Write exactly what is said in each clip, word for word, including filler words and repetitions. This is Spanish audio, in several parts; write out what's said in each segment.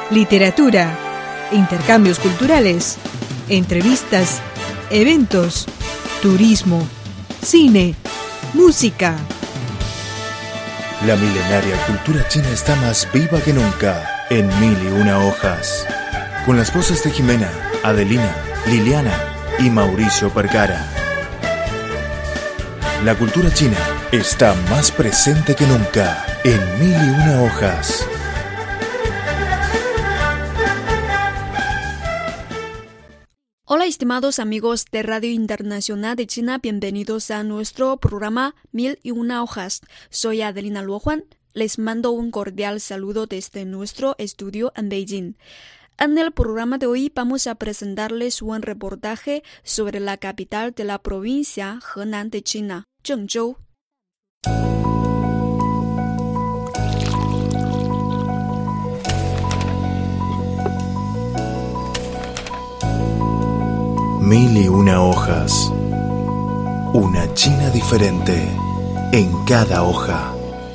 literatura, intercambios culturales, entrevistas, eventos, turismo, cine, música. La milenaria cultura china está más viva que nunca en Mil y Una Hojas. Con las voces de Jimena, Adelina, Liliana y Mauricio Percara. La cultura china está más presente que nunca en Mil y Una Hojas. Hola estimados amigos de Radio Internacional de China, bienvenidos a nuestro programa Mil y Una Hojas. Soy Adelina Luojuan, les mando un cordial saludo desde nuestro estudio en Beijing. En el programa de hoy vamos a presentarles un reportaje sobre la capital de la provincia Henan de China, Zhengzhou. Mil y Una Hojas. Una China diferente en cada hoja.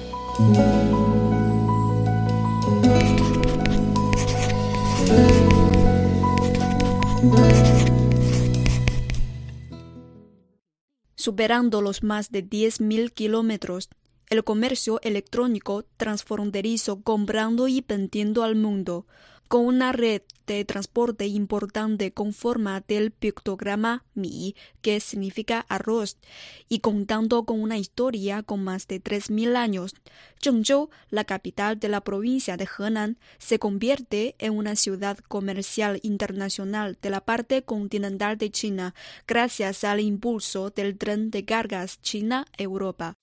Superando los más de diez mil kilómetros, el comercio electrónico transfronterizo comprando y vendiendo al mundo, con una red de transporte importante con forma del pictograma Mi, que significa arroz, y contando con una historia con más de tres mil años, Zhengzhou, la capital de la provincia de Henan, se convierte en una ciudad comercial internacional de la parte continental de China, gracias al impulso del tren de cargas China-Europa.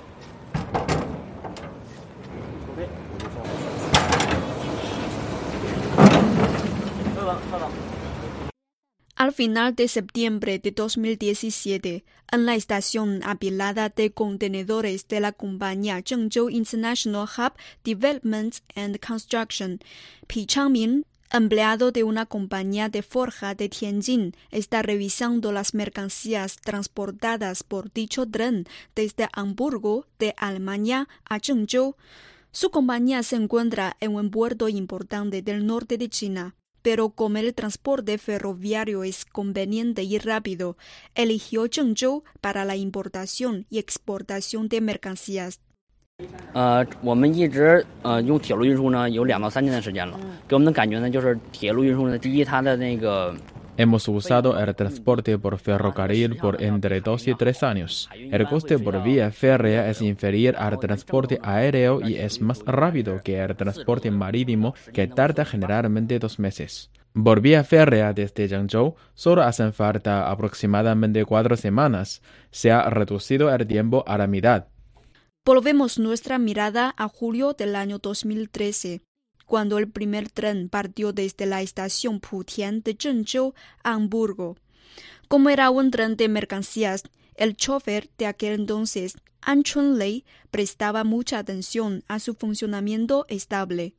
Al final de septiembre de dos mil diecisiete, en la estación apilada de contenedores de la compañía Zhengzhou International Hub Development and Construction, Pi Changmin, empleado de una compañía de forja de Tianjin, está revisando las mercancías transportadas por dicho tren desde Hamburgo, de Alemania, a Zhengzhou. Su compañía se encuentra en un puerto importante del norte de China, pero como el transporte ferroviario es conveniente y rápido, eligió Zhengzhou para la importación y exportación de mercancías. 呃，我们一直呃用铁路运输呢，有两到三年的时间了。给我们的感觉呢，就是铁路运输呢，第一，它的那个 Hemos usado el transporte por ferrocarril por entre dos y tres años. El coste por vía férrea es inferior al transporte aéreo y es más rápido que el transporte marítimo, que tarda generalmente dos meses. Por vía férrea desde Zhengzhou solo hacen falta aproximadamente cuatro semanas. Se ha reducido el tiempo a la mitad. Volvemos nuestra mirada a julio del año dos mil trece. Cuando el primer tren partió desde la estación Putian de Zhengzhou a Hamburgo. Como era un tren de mercancías, el chofer de aquel entonces, An Chunlei, prestaba mucha atención a su funcionamiento estable.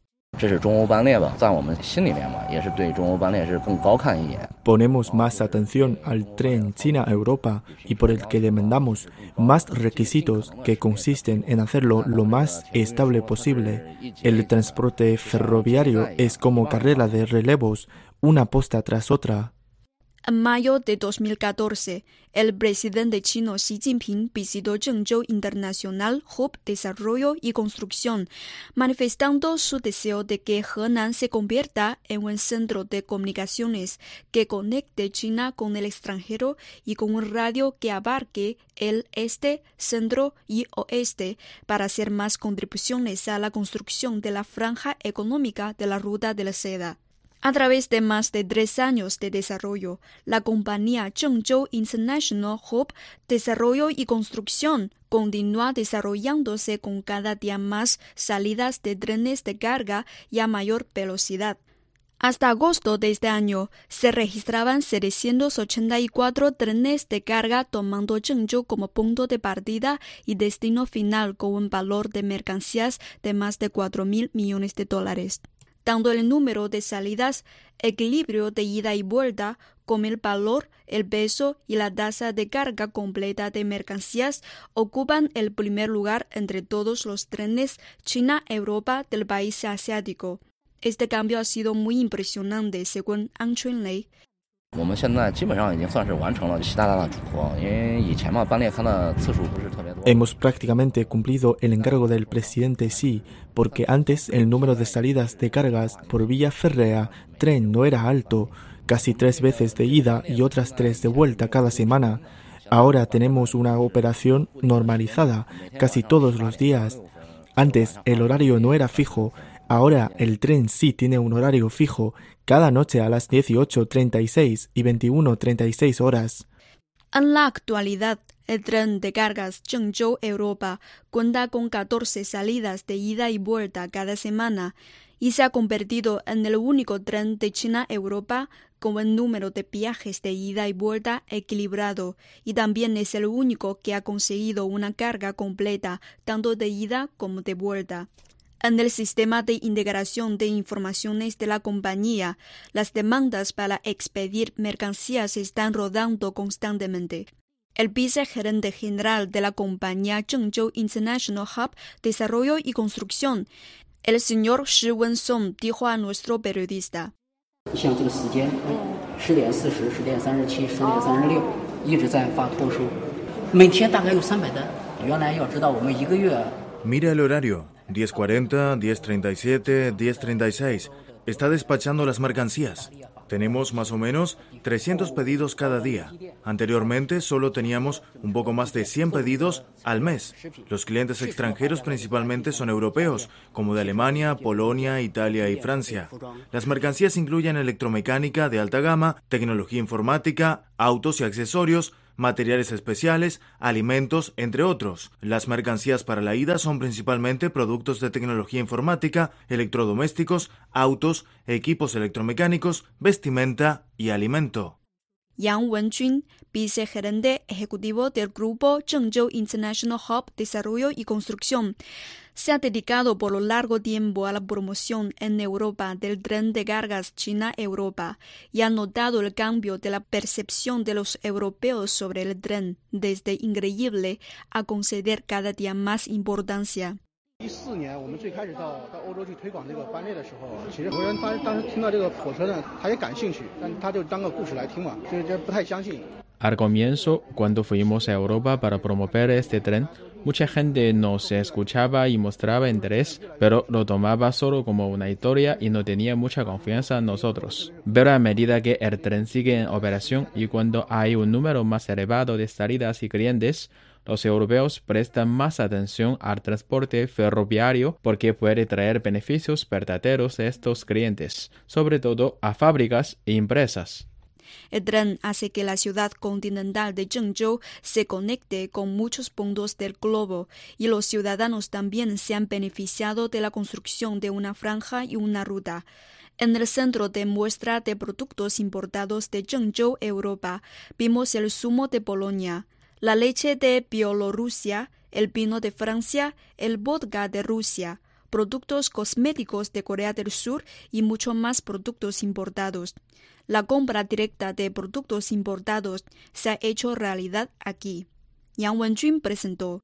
Ponemos más atención al tren China-Europa y por el que demandamos más requisitos que consisten en hacerlo lo más estable posible. El transporte ferroviario es como carrera de relevos, una posta tras otra. En mayo de dos mil catorce, el presidente chino Xi Jinping visitó Zhengzhou International Hub Desarrollo y Construcción, manifestando su deseo de que Henan se convierta en un centro de comunicaciones que conecte China con el extranjero y con un radio que abarque el este, centro y oeste para hacer más contribuciones a la construcción de la franja económica de la Ruta de la Seda. A través de más de tres años de desarrollo, la compañía Zhengzhou International Hub Desarrollo y Construcción continúa desarrollándose con cada día más salidas de trenes de carga y a mayor velocidad. Hasta agosto de este año, se registraban setecientos ochenta y cuatro trenes de carga tomando Zhengzhou como punto de partida y destino final con un valor de mercancías de más de cuatro mil millones de dólares. Tanto el número de salidas, equilibrio de ida y vuelta, como el valor, el peso y la tasa de carga completa de mercancías ocupan el primer lugar entre todos los trenes China-Europa del país asiático. Este cambio ha sido muy impresionante, según An Chunlei. Hemos prácticamente cumplido el encargo del presidente Xi, porque antes el número de salidas de cargas por vía férrea, tren no era alto, casi tres veces de ida y otras tres de vuelta cada semana. Ahora tenemos una operación normalizada, casi todos los días. Antes el horario no era fijo, ahora el tren sí tiene un horario fijo, cada noche a las dieciocho treinta y seis y veintiuno treinta y seis horas. En la actualidad, el tren de cargas Zhengzhou-Europa cuenta con catorce salidas de ida y vuelta cada semana y se ha convertido en el único tren de China-Europa con el número de viajes de ida y vuelta equilibrado, y también es el único que ha conseguido una carga completa tanto de ida como de vuelta. En el sistema de integración de informaciones de la compañía, las demandas para expedir mercancías están rodando constantemente. El vicegerente general de la compañía Zhengzhou International Hub Desarrollo y Construcción, el señor Shi Wensong, dijo a nuestro periodista. Mira el horario, diez cuarenta, diez treinta y siete, diez treinta y seis. Está despachando las mercancías. Tenemos más o menos trescientos pedidos cada día. Anteriormente solo teníamos un poco más de cien pedidos al mes. Los clientes extranjeros principalmente son europeos, como de Alemania, Polonia, Italia y Francia. Las mercancías incluyen electromecánica de alta gama, tecnología informática, autos y accesorios, materiales especiales, alimentos, entre otros. Las mercancías para la ida son principalmente productos de tecnología informática, electrodomésticos, autos, equipos electromecánicos, vestimenta y alimento. Yang Wenjun, vicegerente ejecutivo del grupo Zhengzhou International Hub Desarrollo y Construcción, se ha dedicado por un largo tiempo a la promoción en Europa del tren de cargas China-Europa y ha notado el cambio de la percepción de los europeos sobre el tren, desde increíble a conceder cada día más importancia. Al comienzo, cuando fuimos a Europa para promover este tren, mucha gente nos escuchaba y mostraba interés, pero lo tomaba solo como una historia y no tenía mucha confianza en nosotros. Pero a medida que el tren sigue en operación y cuando hay un número más elevado de salidas y clientes, los europeos prestan más atención al transporte ferroviario porque puede traer beneficios verdaderos a estos clientes, sobre todo a fábricas e empresas. El tren hace que la ciudad continental de Zhengzhou se conecte con muchos puntos del globo y los ciudadanos también se han beneficiado de la construcción de una franja y una ruta. En el centro de muestra de productos importados de Zhengzhou, Europa, vimos el zumo de Polonia, la leche de Bielorrusia, el vino de Francia, el vodka de Rusia, productos cosméticos de Corea del Sur y mucho más productos importados. La compra directa de productos importados se ha hecho realidad aquí. Yang Wenjun presentó.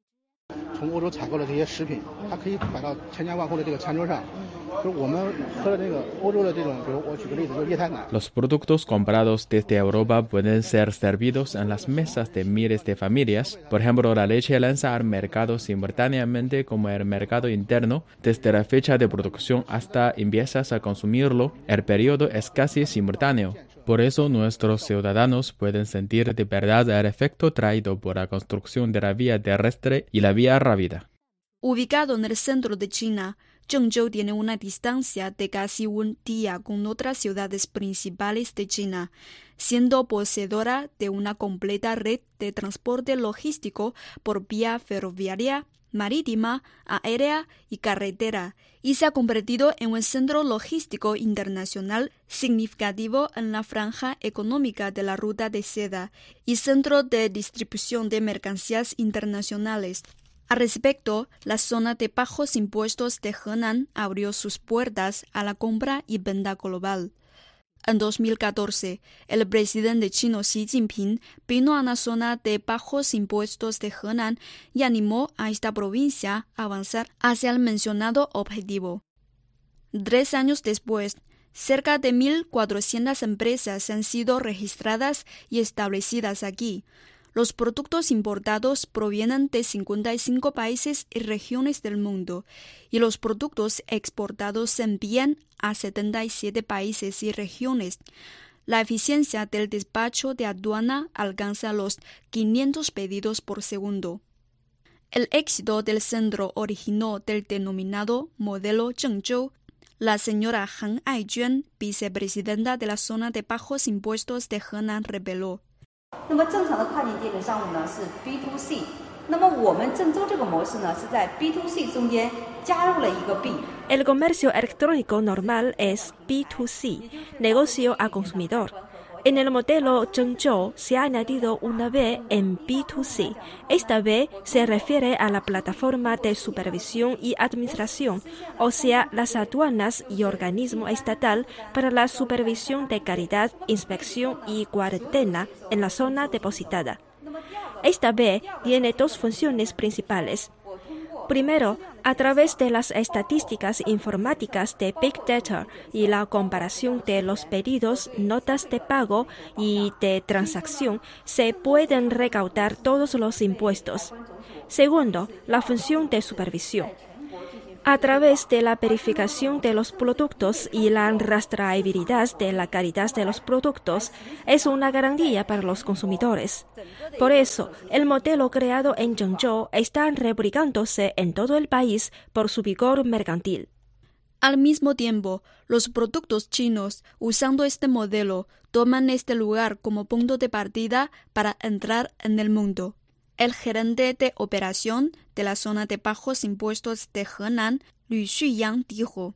Los productos comprados desde Europa pueden ser servidos en las mesas de miles de familias. Por ejemplo, la leche lanza al mercado simultáneamente como el mercado interno. Desde la fecha de producción hasta empiezas a consumirlo, el periodo es casi simultáneo. Por eso nuestros ciudadanos pueden sentir de verdad el efecto traído por la construcción de la vía terrestre y la vía rápida. Ubicado en el centro de China, Zhengzhou tiene una distancia de casi un día con otras ciudades principales de China, siendo poseedora de una completa red de transporte logístico por vía ferroviaria, marítima, aérea y carretera, y se ha convertido en un centro logístico internacional significativo en la franja económica de la ruta de seda y centro de distribución de mercancías internacionales. Al respecto, la zona de bajos impuestos de Henan abrió sus puertas a la compra y venta global. En dos mil catorce, el presidente chino Xi Jinping vino a la zona de bajos impuestos de Henan y animó a esta provincia a avanzar hacia el mencionado objetivo. Tres años después, cerca de mil cuatrocientas empresas han sido registradas y establecidas aquí. Los productos importados provienen de cincuenta y cinco países y regiones del mundo, y los productos exportados se envían a setenta y siete países y regiones. La eficiencia del despacho de aduana alcanza los quinientos pedidos por segundo. El éxito del centro originó del denominado modelo Zhengzhou. La señora Han Aijuan, vicepresidenta de la zona de bajos impuestos de Henan, reveló. El comercio electrónico normal es B dos C, negocio a consumidor. En el modelo Zhengzhou se ha añadido una B en B dos C. Esta B se refiere a la plataforma de supervisión y administración, o sea, las aduanas y organismo estatal para la supervisión de calidad, inspección y cuarentena en la zona depositada. Esta B tiene dos funciones principales. Primero, a través de las estadísticas informáticas de Big Data y la comparación de los pedidos, notas de pago y de transacción, se pueden recaudar todos los impuestos. Segundo, la función de supervisión. A través de la verificación de los productos y la rastreabilidad de la calidad de los productos, es una garantía para los consumidores. Por eso, el modelo creado en Zhengzhou está replicándose en todo el país por su vigor mercantil. Al mismo tiempo, los productos chinos, usando este modelo, toman este lugar como punto de partida para entrar en el mundo. El gerente de operación de la zona de bajos impuestos de Henan, Lü Xuyang, dijo: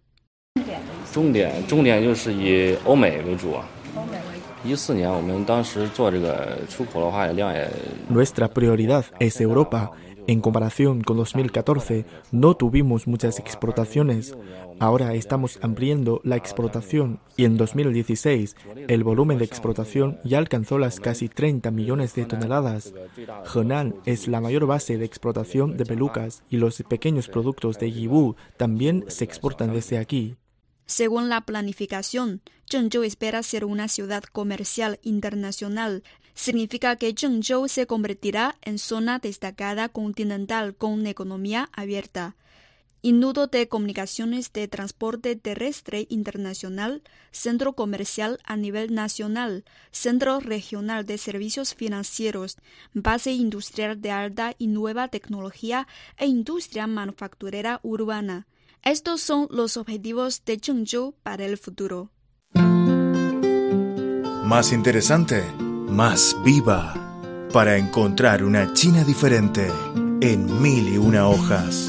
Nuestra prioridad es Europa. En comparación con dos mil catorce, no tuvimos muchas exportaciones. Ahora estamos ampliando la exportación y en dos mil dieciséis el volumen de exportación ya alcanzó las casi treinta millones de toneladas. Henan es la mayor base de exportación de pelucas y los pequeños productos de Yiwu también se exportan desde aquí. Según la planificación, Zhengzhou espera ser una ciudad comercial internacional. Significa que Zhengzhou se convertirá en zona destacada continental con economía abierta. Y nudo de comunicaciones de transporte terrestre internacional, centro comercial a nivel nacional, centro regional de servicios financieros, base industrial de alta y nueva tecnología e industria manufacturera urbana. Estos son los objetivos de Zhengzhou para el futuro. Más interesante, más viva, para encontrar una China diferente en Mil y Una Hojas.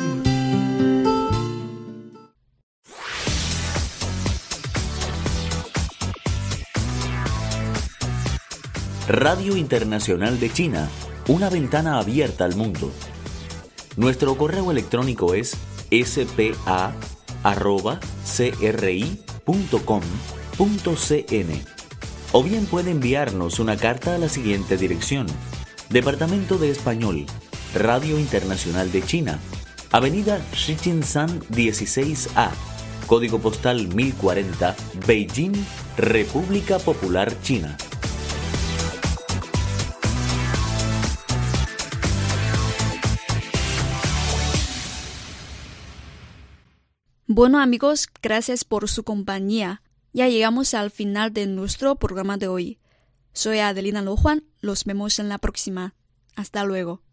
Radio Internacional de China, una ventana abierta al mundo. Nuestro correo electrónico es ese pe a arroba ce erre i punto com punto ce ene o bien puede enviarnos una carta a la siguiente dirección: Departamento de Español, Radio Internacional de China, Avenida Shijinshan dieciséis A, Código Postal mil cuarenta, Beijing, República Popular China. Bueno amigos, gracias por su compañía. Ya llegamos al final de nuestro programa de hoy. Soy Adelina Lo Juan, los vemos en la próxima. Hasta luego.